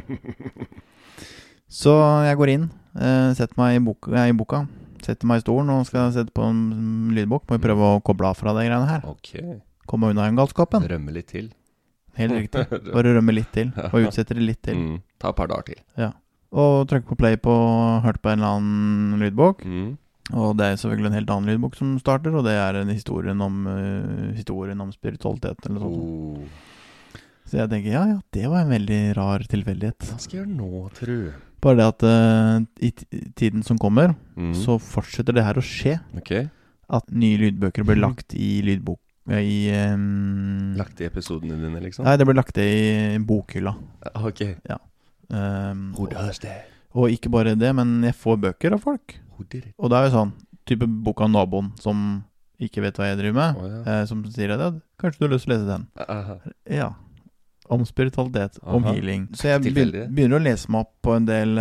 Så jeg går inn, setter meg i boka, i boka. Setter meg i stolen og skal sette på en lydbok. Må vi prøve å koble av fra det greiene her. Ok. Komme unna en galskapen. Rømme litt til. Helt riktig. Bare rømme litt til. Og utsette det litt til. Mm. Ta et par dager til. Ja. Og trykke på play på, hørt på en eller annen lydbok. Mm. Og det er selvfølgelig en helt annen lydbok som starter, og det er en historien om, uh, historien om spiritualitet eller noe sånt. Oh. Så jeg tenker, ja, ja, det var en veldig rar tilfeldighet. Hva skal jeg gjøre nå, tror du? Bare det at uh, i t- tiden som kommer, mm. så fortsetter det her å skje. Ok. At nye lydbøker blir lagt i lydbok. I, um, lagt i episodene dine, liksom? Nei, det ble lagt i bokhylla. Ok. Ja. Um, Who does that? Og ikke bare det, men jeg får bøker av folk. Og det er jo sånn, type bok av naboen som ikke vet hva jeg driver med, oh, ja. eh, som sier at ja, kanskje du har lyst til å lese den. Aha. Ja, om spiritualitet, Aha. Om healing. Så jeg Tilfeldig. begynner å lese meg opp på en del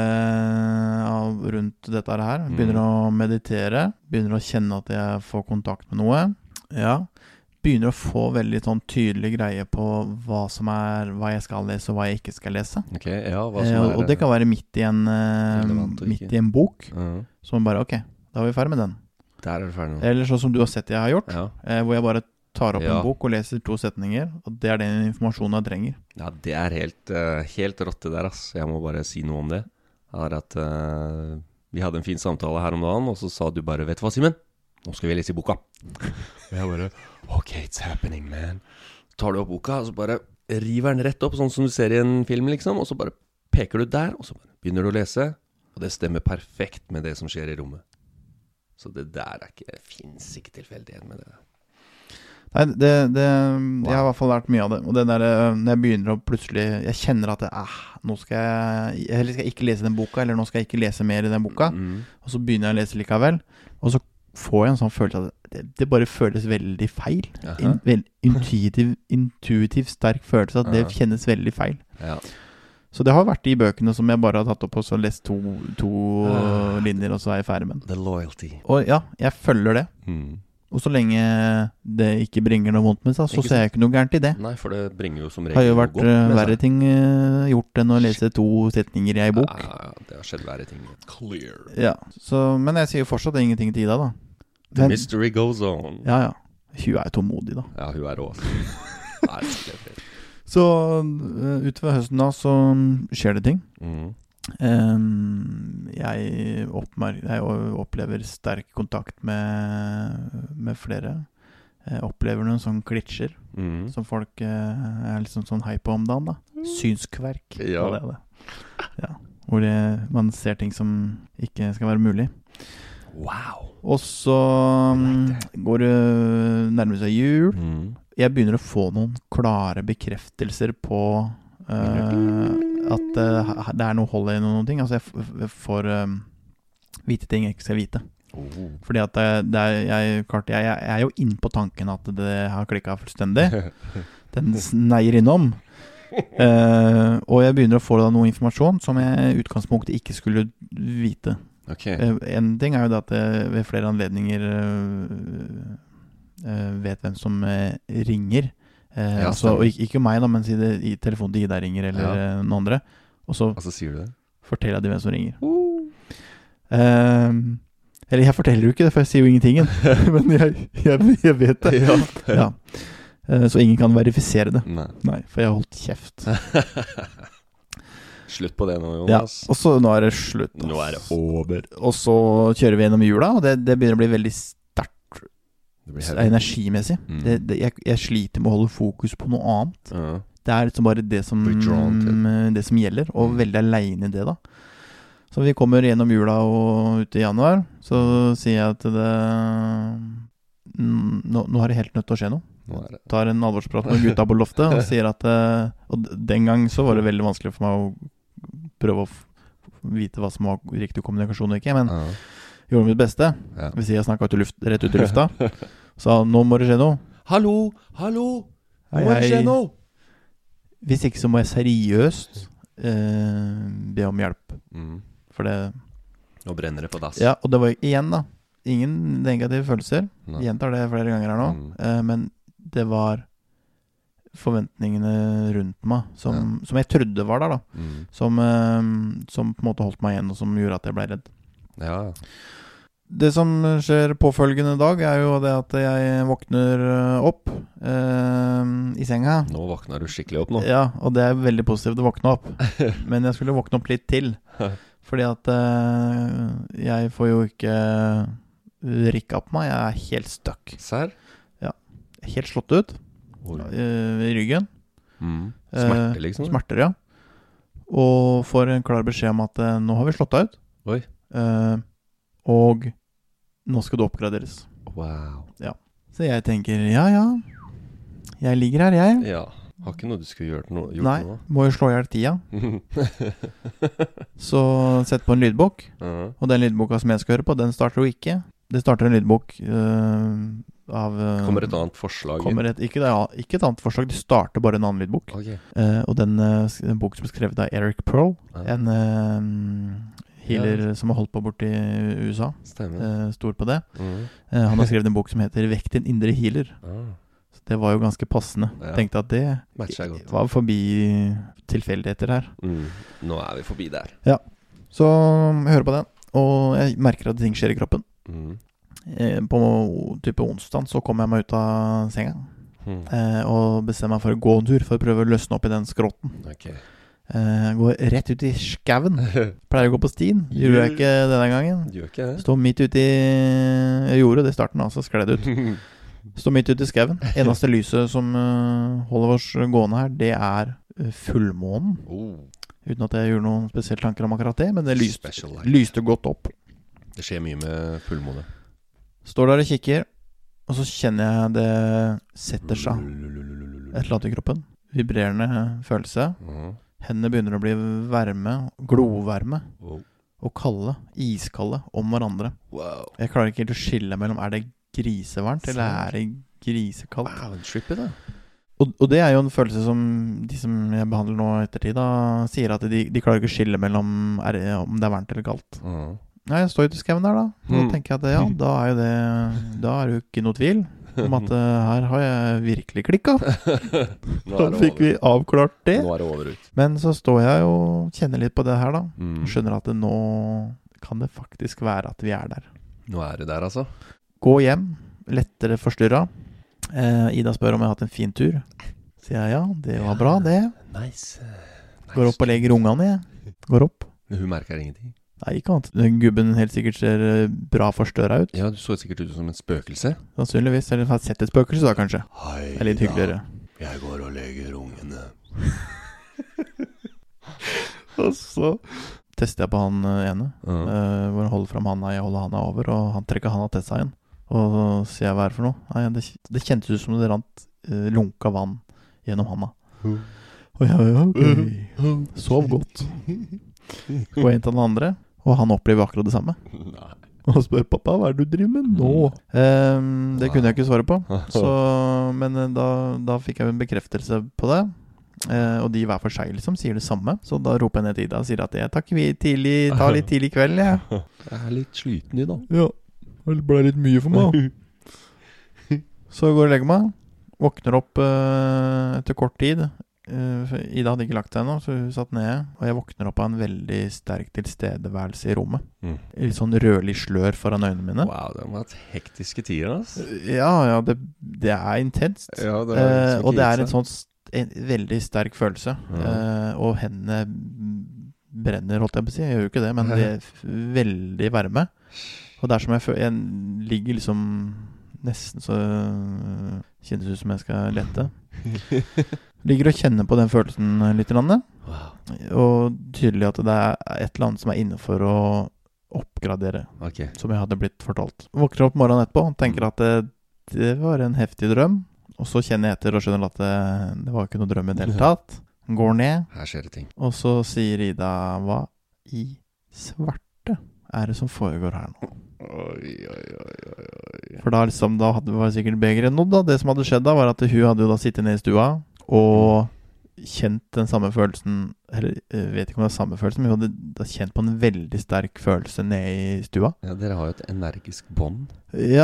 eh, av, rundt dette her. Begynner mm. å meditere, begynner å kjenne at jeg får kontakt med noe. Ja, begynner å få veldig sånn tydelig greie på hva som er, hva jeg skal lese og hva jeg ikke skal lese. Ok, ja, hva som eh, er... Og det kan være midt i en, eh, midt i en bok, uh-huh. som bare, ok, da er vi ferdig med den. Der er du ferdig nå. Eller sånn som du har sett jeg har gjort, ja. eh, hvor jeg bare tar opp ja. en bok og leser to setninger, og det er den informasjonen jeg trenger. Ja, det er helt, uh, helt rått det der, ass. Jeg må bare si noe om det. Det er at uh, vi hadde en fin samtale her om dagen, og så sa du bare, vet du hva, Simen? Nå skal vi lese i boka. Og jeg bare, ok, it's happening, man. Så tar du opp boka, og så bare river den rett opp, sånn som du ser i en film, liksom. Og så bare peker du der, og så begynner du å lese. Og det stemmer perfekt med det som skjer i rommet. Så det der er ikke, det finnes ikke tilfeldighet med det. Nei, det, det, jeg har i hvert fall lært mye av det. Og det der, når jeg begynner å plutselig, jeg kjenner at det, ah, nå skal jeg, eller skal jeg ikke lese den boka, eller nå skal jeg ikke lese mer i den boka. Mm. Og så begynner jeg å lese likevel. Og så får jeg en sånn følelse at det, det bare føles veldig feil. En veld, intuitiv, intuitiv sterk følelse at det Aha. Kjennes veldig feil. Ja. Så det har vært de bøkene som jeg bare har tatt opp og så lest to, to uh, linjer, og så er jeg ferdig med den. The loyalty. Og ja, jeg følger det. Mm. Og så lenge det ikke bringer noe vondt med seg, så ser jeg ikke noe gærent i det. Nei, for det bringer jo som regel har jo vært verre ting uh, gjort enn å lese to setninger i en bok. Ja, ja, det har skjedd verre ting. Clear. Ja, så, men jeg sier fortsatt ingenting til Ida da. The men, mystery goes on. Ja, ja. Hun er tålmodig da. Ja, hun er også. Nei, det er fint. Så uh, utover høsten da, så skjer det ting. Mhm. Um, jeg, oppmer- jeg opplever sterk kontakt med, med flere. Jeg opplever noen sånne klitsjer mm. som folk uh, er liksom sånn hei på om dagen da. Synskverk. Ja. Det det. Ja. Hvor det, man ser ting som ikke skal være mulig. Wow. Og så um, går det nærmere seg jul. Mm. Jeg begynner å få noen klare bekreftelser på uh, at uh, det er noe hold i noen ting. Altså jeg, f- jeg får um, vite ting jeg ikke skal vite. Oh. Fordi at det, det er, jeg, klart, jeg, jeg er jo inn på tanken at det har klikket fullstendig. Den sneier innom. Uh, og jeg begynner å få da noe informasjon som jeg i utgangspunktet ikke skulle vite. Okay. Uh, en ting er jo det at jeg ved flere anledninger uh, uh, vet hvem som uh, ringer. Eh, ja, altså, og ikke, ikke meg da, men si det i telefonen til Ida ringer eller ja. noen andre. Og så, og så sier du det? Forteller jeg dem hvem som ringer. Uh. Eh, eller jeg forteller jo ikke det, for jeg sier jo ingenting. Men jeg, jeg, jeg vet det. Ja. Ja. Eh, så ingen kan verifisere det. Nei. Nei, for jeg har holdt kjeft. Slutt på det nå, Jonas. Ja, og så nå er det slutt. Ass. Nå er det over. Og så kjører vi gjennom jula, og det, det begynner å bli veldig energimessig. Mm. Det, det, jeg, jeg sliter med å holde fokus på noe annet. Uh-huh. Det er liksom bare det som, det som gjelder, og mm. veldig alene i det da. Så vi kommer gjennom jula og ut i januar, så sier jeg at det nå, nå har det helt nødt til å skje noe. Nå er det. Tar en alvorsprat med gutta på loftet og sier at, og den gang så var det veldig vanskelig for meg å prøve å f- vite hva som var riktig kommunikasjon og ikke, men uh-huh. gjorde mitt beste. Ja. Hvis jeg snakket ut i luft, rett ut i lufta. Så nå må det skje noe. Hallo, hallo, nå må det skje noe. Hvis ikke så må jeg seriøst eh, be om hjelp. Mm. For det... Nå brenner det på dass. Ja, og det var igjen da. Ingen negative følelser. No. Jeg gjentar det flere ganger her nå. Mm. Eh, men det var forventningene rundt meg som, ja. som jeg trodde var der da. Mm. Som, eh, som på en måte holdt meg igjen, og som gjorde at jeg ble redd. Ja. Det som skjer påfølgende dag er jo det at jeg våkner opp eh, i senga. Nå våkner du skikkelig opp nå. Ja, og det er veldig positivt å våkne opp. Men jeg skulle våkne opp litt til. Fordi at eh, jeg får jo ikke rikke opp meg. Jeg er helt stuck. Serr? Ja, helt slått ut eh, i ryggen. Mm. Smerter liksom? Eh, smerter, ja. Og får en klar beskjed om at eh, nå har vi slått deg ut. Oi. Uh, og nå skal du oppgraderes. Wow. Ja. Så jeg tenker, ja, ja jeg ligger her, jeg. Ja, har ikke noe du skulle gjort, no- gjort Nei, noe. må jo slå i hjel tida. Så sett på en lydbok. Uh-huh. Og den lydboka som jeg skal høre på, den starter jo ikke. Det starter en lydbok uh, av uh, Kommer et annet forslag kommer et, ikke, det, ikke et annet forslag, det starter bare en annen lydbok. Okay. uh, Og den, uh, en bok som er skrevet av Eric Pearl, uh-huh. En uh, healer ja. som har holdt på bort i U S A. Stemmer. Uh, stor på det. Mm. Uh, han har skrevet en bok som heter Vekk din indre healer. Ah. Så det var jo ganske passende. Ja. Tenkte at det var forbi tilfeldigheter her. Mm. Nå er vi forbi der. Ja. Så jeg hører på den, og jeg merker at ting skjer i kroppen. Mm. Uh, på type onsdag så kommer jeg meg ut av senga. Mm. Uh, og bestemmer meg for å gå en tur for å prøve å løsne opp i den skrotten. Ok. Uh, går rett ut i skaven. Pleier å gå på stien. Gjorde jeg ikke denne gangen. Gjør ikke det. Stå midt ut i... Jeg gjorde det i starten, altså skled ut. Stå midt ut i skaven. Eneste lyset som uh, holder oss gående her, det er uh, fullmånen. Oh. Uten at jeg gjorde noen spesielle tanker om akkurat det, men det lyste, lyste godt opp. Det skjer mye med fullmåne. Står der og kikker, og så kjenner jeg det setter seg et eller annet i kroppen. Vibrerende følelse. Mhm. Hendene begynner å bli varme, glovarme, wow. Og kalde, iskalde om hverandre. Wow. Jeg klarer ikke helt å skille mellom, er det grisevarmt, eller er det grisekaldt? Wow, trippy da. Og, og det er jo en følelse som de som jeg behandler nå ettertid da, sier at de, de klarer ikke å skille mellom er, om det er varmt eller kaldt. Uh-huh. Nei, jeg står ute i skauen der da. Og da tenker jeg at ja, da er jo det, da er det jo ikke noe tvil om at uh, her har jeg virkelig klikket. Da fikk vi avklart det. Nå er det over ut. Men så står jeg og kjenner litt på det her da. Mm. Skjønner at det nå kan det faktisk være at vi er der. Nå er det der altså. Gå hjem, lettere forstyrret. Eh, Ida spør om jeg har hatt en fin tur. Sier jeg ja, det var bra det. Nice. nice. Går opp og legger ungene i. Går opp. Men hun merker ingenting. Nei, ikke annet. Den gubben helt sikkert ser bra forstørret ut. Ja, du så sikkert ut som en spøkelse. Sannsynligvis, eller har sett et spøkelse da, kanskje. Hei, det er litt hyggeligere. Da. Jeg går og legger ungene. Og så tester jeg på han ene, uh-huh. uh, hvor han holder frem handa, jeg holder handa over, og han trekker handa til seg igjen. Og så sier jeg hva er det for noe? Nei, det, det kjentes ut som det rant uh, lunka vann gjennom handa. Uh. Og jeg, ja, ok, sov godt. Gå inn til den andre. Og han opplever akkurat det samme. Nei. Og spør pappa, hva er det du driver med nå? Um, det kunne jeg ikke svare på. Så, men da, da fikk jeg en bekreftelse på det. Uh, og de hver for seg liksom sier det samme. Så da roper jeg ned til Ida og sier at jeg tar tidlig, tar litt tidlig kveld. Ja. Jeg er litt sliten i dag. Ja, det ble litt mye for meg. Så går jeg og legger meg. Våkner opp uh, etter kort tid. Uh, Ida hadde ikke lagt seg ennå, så hun satt nede. Og jeg våkner opp av en veldig sterk tilstedeværelse i rommet. Mm. Litt sånn rødlig slør foran øynene mine. Wow, det har vært hektiske tider, altså. Ja, ja, det, det er intenst. Ja, det er uh, og det er en sånn en veldig sterk følelse. Mm. Uh, og hendene brenner, holdt jeg på å si. Jeg gjør jo ikke det, men det er veldig varme. Og det er som jeg føler, jeg ligger liksom nesten så kjennes ut som jeg skal lette. Ligger og kjenner på den følelsen litt wow. Og tydelig at det er et eller annet som er inne for å oppgradere, okay. Som jeg hadde blitt fortalt. Våkner opp morgenen etterpå og tenker at det, det var en heftig drøm. Og så kjenner jeg etter og skjønner at det, det var ikke noe drøm i det hele tatt. Går ned. Her skjer det ting. Og så sier Ida, hva i svarte er det som foregår her nå? Oi, oi, oi, oi. For da, liksom, da hadde, var det sikkert begeret nådd da. Det som hadde skjedd da var at hun hadde jo da sittet nede i stua og kjent den samme følelsen, eller jeg vet ikke om det er samme følelsen, men hun hadde da kjent på en veldig sterk følelse nede i stua. Ja, dere har jo et energisk bånd. Ja,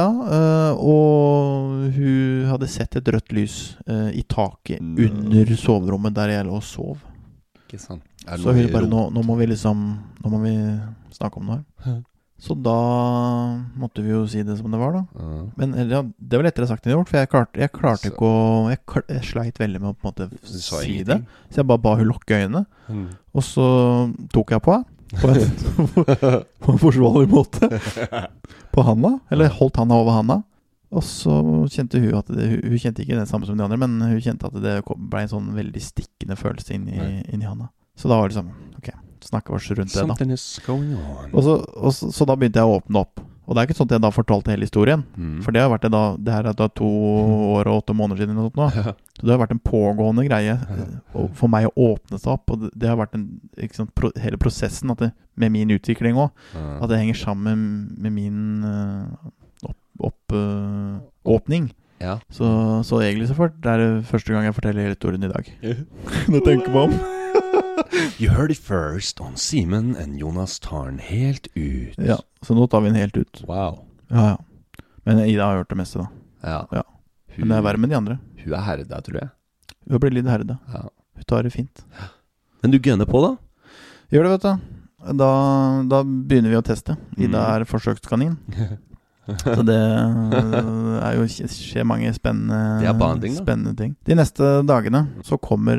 og hun hadde sett et rødt lys i taket mm. under soverommet der jeg lå og sov. Ikke sant. Så hun bare, nå, nå må vi liksom, nå må vi snakke om det her. Så da måtte vi jo si det som det var da. Uh. Men ja, det var lettere sagt enn gjort, for jeg klarte, jeg klarte ikke å... Jeg, klar, jeg sleit veldig med å på en måte si ingenting. Det. Så jeg bare ba hun lukke øynene. Mm. Og så tok jeg på henne. På en, på en forsvarlig måte. På handa. Eller holdt handa over handa. Og så kjente hun at det, hun kjente ikke det samme som de andre, men hun kjente at det ble en sånn veldig stikkende følelse inn i, inn i handa. Så da var det sånn, ok, snakker oss rundt det da. Something is going on. Og, så, og så, så da begynte jeg å åpne opp. Og det er ikke sånn at jeg da fortalte hele historien. Mm. For det har vært det da, det her er da to år og åtte måneder siden eller noe nå. Så det har vært en pågående greie for meg å åpne seg opp. Og det, det har vært en, ikke sant, pro, hele prosessen at det, med min utvikling også. At det henger sammen med min uh, opp, opp, uh, åpning. Ja. Så, så egentlig så fort, det er det første gang jeg forteller hele historien i dag. Nå tenker man om. You heard it first on Simen and Jonas tar den helt ut. Ja, så nå tar vi den helt ut. Wow. Ja, ja. Men Ida har gjort det meste da. Ja. Ja. Men det er verre med de andre. Hun er herda, tror jeg. Hun blir litt herda. Ja. Hun tar det fint. Men du gønner på da? Gjør det, vet du. Da, da begynner vi å teste. Ida er forsøkskanin. Så det er jo skjer mange spennende, banding, spennende ting. De neste dagene så kommer,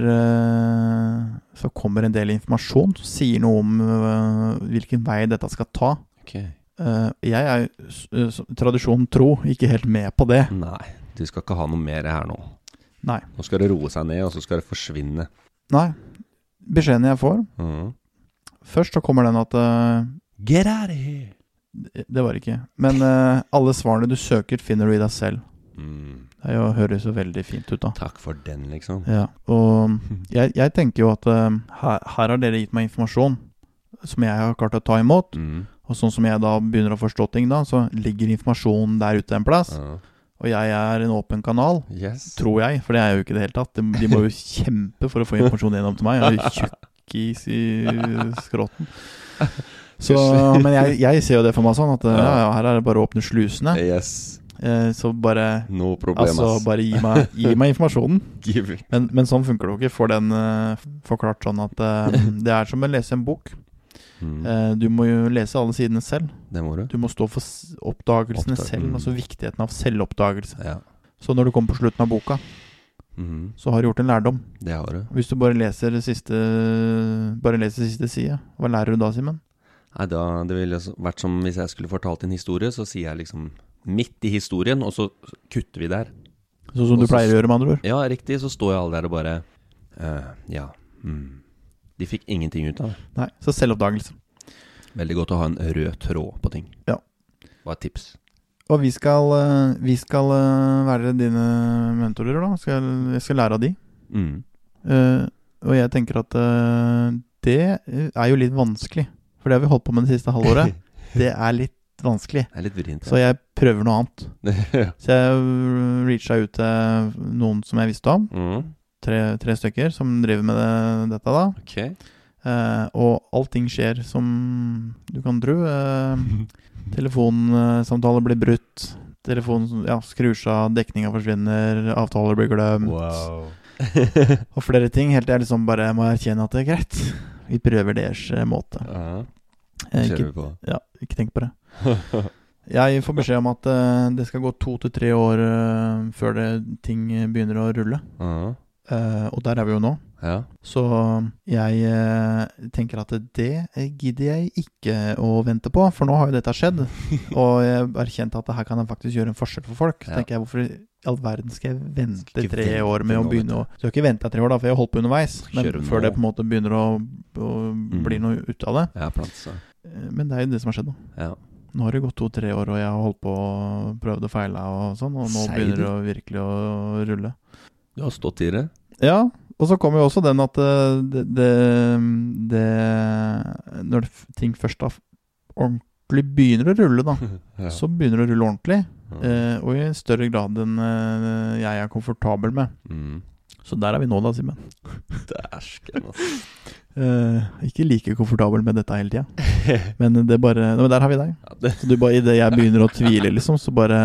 så kommer en del informasjon som sier noe om hvilken vei dette skal ta. Okay. Jeg er tradisjon tro ikke helt med på det. Nei, du skal ikke ha noe mer her nå. Nei. Nå skal det roe seg ned, og så skal det forsvinne. Nei, beskjeden jeg får mm. Først så kommer den at Get out of here! Det var ikke. Men uh, alle svarene du søker finner du i deg selv. Mm. Det jo, høres jo veldig fint ut da. Takk for den, liksom. Ja, og jeg, jeg tenker jo at uh, her, her har dere gitt meg informasjon som jeg har klart å ta imot. Mm. Og sånn som jeg da begynner å forstå ting da, så ligger informasjonen der ute en plass. Uh. Og jeg er en åpen kanal, yes. Tror jeg, for det er jo ikke det hele tatt. De, de må jo kjempe for å få informasjon gjennom til meg. Jeg er jo tjukk i skrotten. Så, men jeg, jeg ser jo det for meg sånn, at ja. Ja, her er det bare å åpne slusene. Yes. Eh, så bare, no problem, altså, bare gi, meg, gi meg informasjonen. men, men sånn funker det ikke. For den uh, forklart sånn at uh, det er som å lese en bok. Mm. Uh, du må jo lese alle sidene selv. Det må du. Du må stå for oppdagelsene Oppdag- selv, mm. altså viktigheten av selvoppdagelse. Ja. Så når du kommer på slutten av boka, mm. så har du gjort en lærdom. Det har du. Hvis du bare leser siste, bare leser siste side, hva lærer du da, Simen? Nei, da, det ville vært som hvis jeg skulle fortalt en historie, så sier jeg liksom midt i historien, og så kutter vi der. Så som du pleier å gjøre med andre ord? Ja, riktig. Så står jeg alle der og bare, uh, ja, mm. de fikk ingenting ut av det. Nei, så selvoppdagelse. Veldig godt å ha en rød tråd på ting. Ja. Hva er tips? Og vi skal, vi skal være dine mentorer da. Skal, jeg skal lære av de. Mm. Uh, og jeg tenker at uh, det er jo litt vanskelig. For det har vi holdt på med det siste halvåret. Det er litt vanskelig. Det er litt vrient, ja. Så jeg prøver noe annet. Så jeg reacha ut til noen som jeg visste om. Mm. Tre, tre stykker som driver med det, dette da. Ok. Uh, og allting skjer som du kan tro. Uh, telefonsamtaler blir brutt, telefon ja, skrur seg av, dekninga forsvinner, avtaler blir glemt. Wow. Og flere ting. Helt jeg liksom bare må erkjenne at det er greit. Vi prøver deres måte. Ja, det kjører vi på. Ja, ikke tenk på det. Jeg får beskjed om at uh, det skal gå to til tre år uh, før det, ting begynner å rulle. Uh-huh. Uh, og der er vi jo nå. Ja. Så jeg uh, tenker at det gidder jeg ikke å vente på, for nå har jo dette skjedd. Og jeg har kjent at her kan jeg faktisk gjøre en forskjell for folk. Så ja. tenker jeg, hvorfor i all verden skal jeg vente skal tre vente år med å begynne å... Så jeg har ikke ventet tre år da, for jeg har holdt på underveis. Men før det på en måte begynner å, å bli noe ut av det. Ja, plansa. Men det er jo det som har skjedd nå. Ja. Nå har det gått to-tre år, og jeg har holdt på å prøve å feile og sånn, og nå Seid. begynner det å virkelig å rulle. Du har stått i det? Ja, og så kommer jo også den at det, det, det når ting først da ordentlig begynner å rulle da, ja. så begynner det å rulle ordentlig, ja. eh, og i større grad enn eh, jeg er komfortabel med. Mm. Så der er vi nå da, Simen. Det er sken, altså. Uh, ikke like komfortabel med dette hele tiden. Men det bare, men der har vi deg. Ja, det. Så du bare, i det jeg begynner å tvile liksom, så bare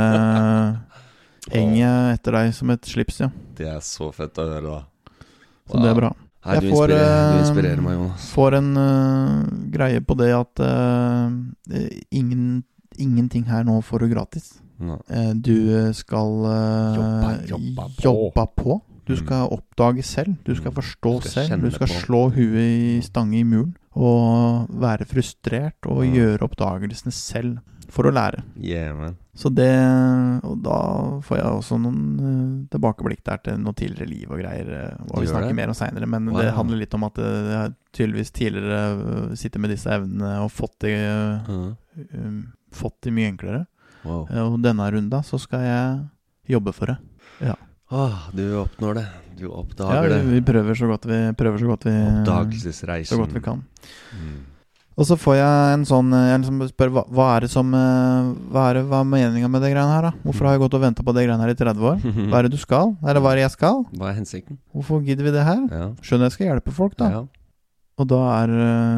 henger jeg etter deg som et slips, ja. Det er så fett å høre da. Så wow. Det er bra. Hei, jeg du, får, inspirerer, du inspirerer meg, Jonas. Får en uh, greie på det at uh, ingen, ingenting her nå får du gratis. No. Uh, du skal uh, jobba, jobba på. Jobba på. Du skal oppdage selv, du skal forstå du skal selv, du skal på. slå huet i stange i muren, og være frustrert, og ja. gjøre oppdagelsene selv, for å lære. Yeah, man. Så det, og da får jeg også noen uh, tilbakeblikk der til noe tidligere liv og greier, og vi snakker det? mer om senere, men wow. det handler litt om at uh, jeg har tydeligvis tidligere uh, sitter med disse evnene og fått det, uh, uh, um, fått det mye enklere. Wow. Uh, og denne runden så skal jeg jobbe for det. Ja. Åh, du oppnår det. Du oppdager ja, vi, det. Ja, vi prøver så godt vi prøver så godt vi Oppdagelsesreisen. Så godt vi kan. Mm. Og så får jeg en sånn jeg liksom spør hva, hva er det som hva er det hva er meningen med det greiene her da? Hvorfor har jeg gått og ventet på det greiene her i tretti år? Hva er det du skal? Eller hva er det jeg skal? Hva er hensikten? Hvorfor gidder vi det her? Ja. Skjønner jeg skal hjelpe folk da. Ja. Og da er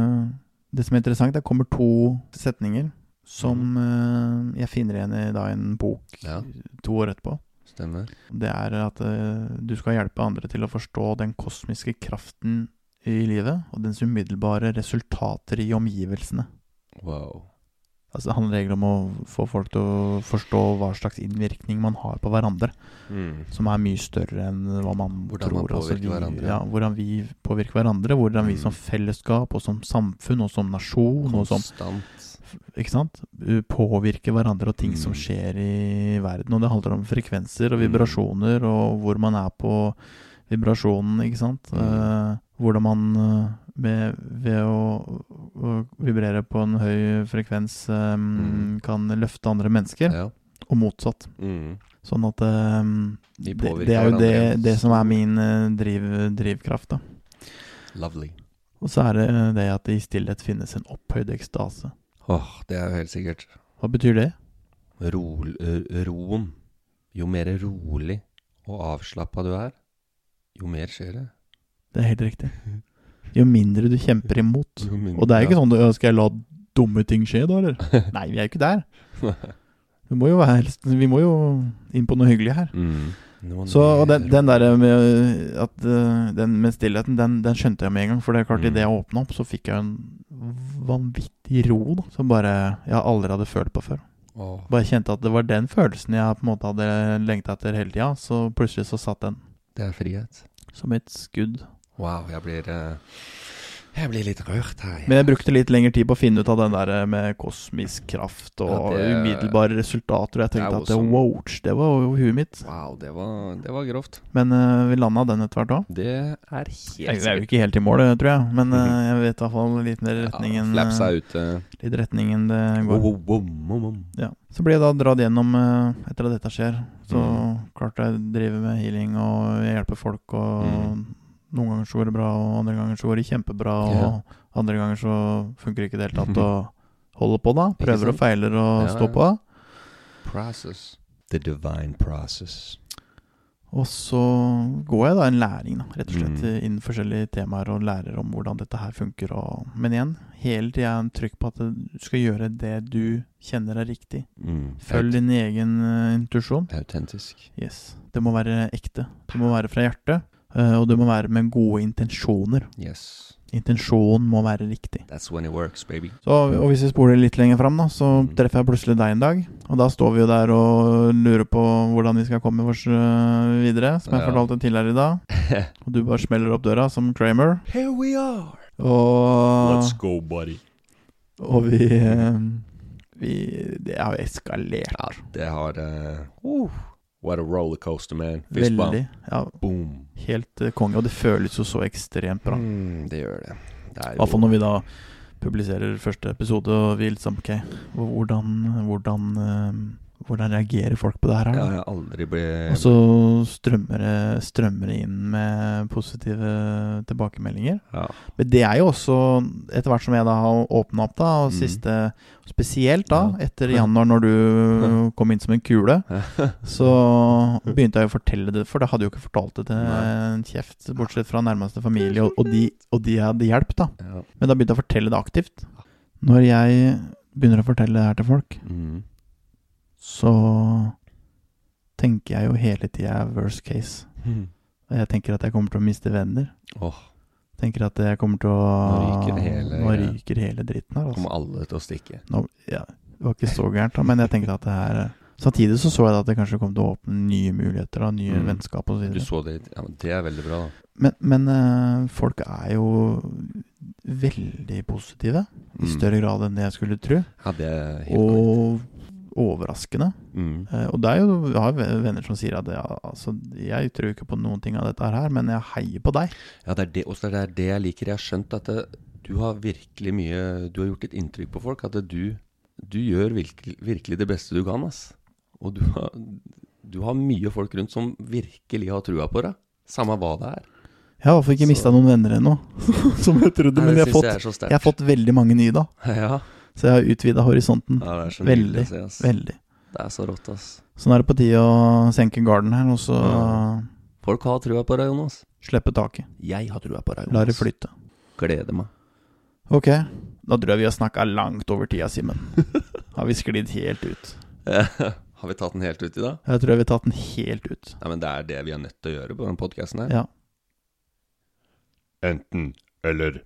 det som er interessant, det kommer to setninger som mm. jeg finner igjen i da, en bok ja. to år etterpå. Stemmer. Det er at uh, du skal hjelpe andre til å forstå den kosmiske kraften i livet, og dens umiddelbare resultater i omgivelsene. Wow. Altså det handler egentlig om å få folk til å forstå hva slags innvirkning man har på hverandre, mm. som er mye større enn hva man hvordan tror. Man påvirker altså vi, hverandre. Ja, hvordan vi påvirker hverandre, hvordan mm. vi som fellesskap, og som samfunn, og som nasjon, og som... Ikke sant? Påvirker hverandre og ting mm. som skjer i verden, og det handler om frekvenser og vibrasjoner og hvor man er på vibrasjonen, ikke sant? Mm. Uh, hvordan man med, ved å, å vibrere på en høy frekvens um, mm. kan løfte andre mennesker, ja. og motsatt. Mm. Sånn at um, det, det er jo det, det som er min uh, driv, drivkraft da. Lovely. Og så er det det at i stillhet finnes en opphøyd ekstase. Åh, oh, det er jo helt sikkert. Hva betyr det? Ro, roen. Jo mer rolig og avslappet du er, jo mer skjer det. Det er helt riktig. Jo mindre du kjemper imot. Mindre, og det er ikke ja. sånn, skal jeg la dumme ting skje da, eller? Nei, vi er jo ikke der. Vi må jo, være, vi må jo inn på noe hyggelig her. Mm. Så og den, den der med, at, den med stillheten, den, den skjønte jeg med en gang. For det er klart, mm. i det jeg åpnet opp, så fikk jeg en vanvittig ro da, som bare jeg aldri hadde følt på før. Oh. Bare kjente at det var den følelsen jeg på en måte hadde lengtet etter hele tiden. Så plutselig så satt den. Det er frihet. Som et skudd. Wow, jeg blir... Uh... Jeg blir litt rørt her. Men jeg brukte litt lengre tid på å finne ut av den der med kosmisk kraft og ja, det, umiddelbare resultater. Og jeg tenkte at det, wow, det var jo huet mitt. Wow, det var, det var grovt. Men uh, vi landet den etter hvert også. Det er helt sikkert. Jeg er jo ikke helt i mål, tror jeg. Men uh, jeg vet i hvert fall litt mer retningen. Ja, flaps er ute. Litt retningen det går. Wow, wow, wow, wow. Ja. Så blir jeg da dratt gjennom uh, etter at dette skjer. Så mm. klart jeg driver med healing og hjelper folk og... Mm. Noen ganger så går det bra, og andre ganger så går det kjempebra, og yeah. andre ganger så funker det ikke det helt tatt, og holder på da, prøver og feiler og ja, står på. Process. The divine process. Og så går jeg da en læring da, rett og slett mm. innen forskjellige temaer og lærer om hvordan dette her funker. Og, men igjen, hele tiden er en trykk på at du skal gjøre det du kjenner er riktig. Mm. Følg din egen uh, intuisjon. Autentisk. Yes. Det må være ekte. Det må være fra hjertet. Uh, og det må være med gode intensjoner. Yes. Intensjonen må være riktig. That's when it works, baby. Så, og hvis vi spoler litt lenger frem da, så mm. treffer jeg plutselig deg en dag. Og da står vi jo der og lurer på hvordan vi skal komme oss uh, videre, som jeg ja. fortalte tidligere i dag. Og du bare smeller opp døra som Kramer. Here we are! Og, let's go, buddy. Og vi, uh, vi... Det har eskalert. Ja, det har... Uh, uh. What a rollercoaster, man. Fist Veldig, ja. Boom. Helt uh, konge, og det føles jo så ekstremt bra. Mm, det gjør det. det I hvert fall når vi da publiserer første episode, og vi liksom, ok, hvordan, hvordan, uh, hvordan reagerer folk på det her? Ja, jeg aldri blir... Og så strømmer det, strømmer det inn med positive tilbakemeldinger. Ja. Men det er jo også, etter hvert som jeg da har åpnet opp da, og mm. siste... Spesielt da, etter januar når du kom inn som en kule, så begynte jeg å fortelle det, for det hadde jo ikke fortalt det til en kjeft, bortsett fra nærmeste familie, og, og, de, og de hadde hjelp da. Men da begynte jeg å fortelle det aktivt. Når jeg begynner å fortelle det her til folk, mm. så tenker jeg jo hele tiden worst case. Mm. Jeg tenker at jeg kommer til å miste venner. Åh. Oh. Tenker at jeg kommer til å... Nå ryker hele... Nå ryker hele dritten her. Altså. Kommer alle til å stikke. Nå, ja, det var ikke så gærent da, men jeg tenker at det her... Samtidig så så jeg at det kanskje kom til å åpne nye muligheter og nye mm. vennskap og så videre. Du så det, ja, men det er veldig bra da. Men, men uh, folk er jo veldig positive, mm. i større grad enn det jeg skulle tro. Ja, det er helt og korrekt. Overraskende. Mm. Uh, og det er jo, jeg har venner som sier at ja, altså, jeg tror ikke på noen ting av dette her, men jeg heier på deg. Ja, det er det, også det er det jeg liker. Jeg har skjønt at det, du har virkelig mye, du har gjort et inntrykk på folk, at det, du, du gjør virkelig, virkelig det beste du kan, ass. Og du har, du har mye folk rundt som virkelig har trua på deg, samme hva det er. Jeg har ikke mistet noen venner ennå, som jeg trodde, men jeg har, fått, jeg, jeg har fått veldig mange nye da. Ja. Så jeg har utvidet horisonten. Ja, det er så veldig, å se, ass. Veldig. Det er så rått, ass. Så nå er det på tide å senke garden her, og så... Ja. Folk har trua på deg, Jonas. Slippe taket. Jeg har trua på deg, Jonas. La det flytte. Gleder meg. Ok, da tror jeg vi har snakket langt over tida, Simen. Har vi sklidd helt ut? Har vi tatt den helt ut i dag? Jeg tror vi har tatt den helt ut. Ja, men det er det vi er nødt til å gjøre på den podcasten her. Ja. Enten eller...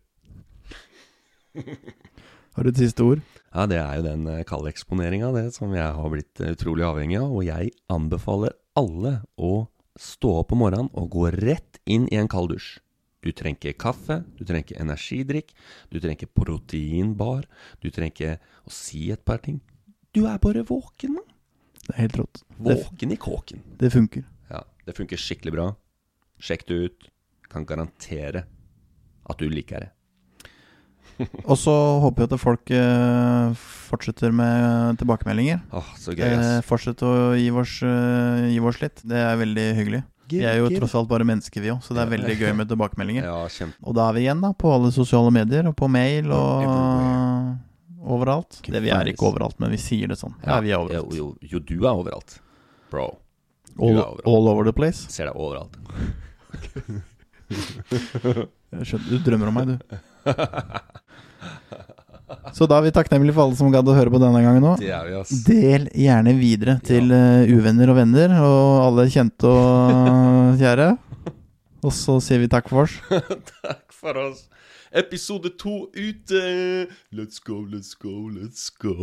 Har du et siste ord? Ja, det er jo den kalde eksponeringen av det som jeg har blitt utrolig avhengig av, og jeg anbefaler alle å stå opp om morgenen og gå rett inn i en kald dusj. Du trenger ikke kaffe, du trenger ikke energidrikk, du trenger ikke proteinbar, du trenger ikke å si et par ting. Du er bare våken, man. Det er helt rått. Våken i kåken. Det funker. Ja, det funker skikkelig bra. Sjekk det ut. Kan garantere at du liker det. Og så håper jeg at folk eh, fortsetter med tilbakemeldinger. Åh, så gøy, ass. Eh, fortsett å gi oss, uh, gi oss litt. Det er veldig hyggelig. Vi er jo tross alt bare mennesker vi også, så det er veldig gøy med tilbakemeldinger. Ja, kjempe. Og da er vi igjen da, på alle sosiale medier, og på mail, og uh, overalt. Det vi er ikke overalt, men vi sier det sånn. Ja, vi er overalt. Jo, jo, jo, du er overalt. Bro. All, er overalt. All over the place. Ser deg overalt. Jeg skjønner, du drømmer om meg, du. Så da er vi takknemlige for alle som gadd å høre på denne gangen nå. Det er vi, ass. Del gjerne videre til ja. uh, uvenner og venner, og alle kjente og kjære. Og så sier vi takk for oss. Takk for oss. Episode to ute. Let's go, let's go, let's go.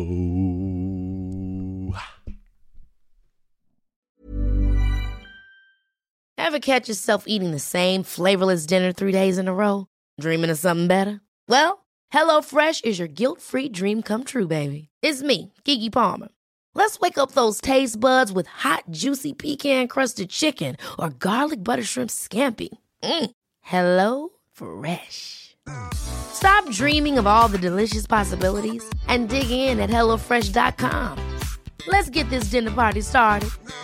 Ever catch yourself eating the same flavorless dinner three days in a row? Dreaming of something better? Well, HelloFresh is your guilt-free dream come true, baby. It's me, Keke Palmer. Let's wake up those taste buds with hot, juicy pecan-crusted chicken or garlic butter shrimp scampi. Mm. Hello Fresh. Stop dreaming of all the delicious possibilities and dig in at hello fresh dot com. Let's get this dinner party started.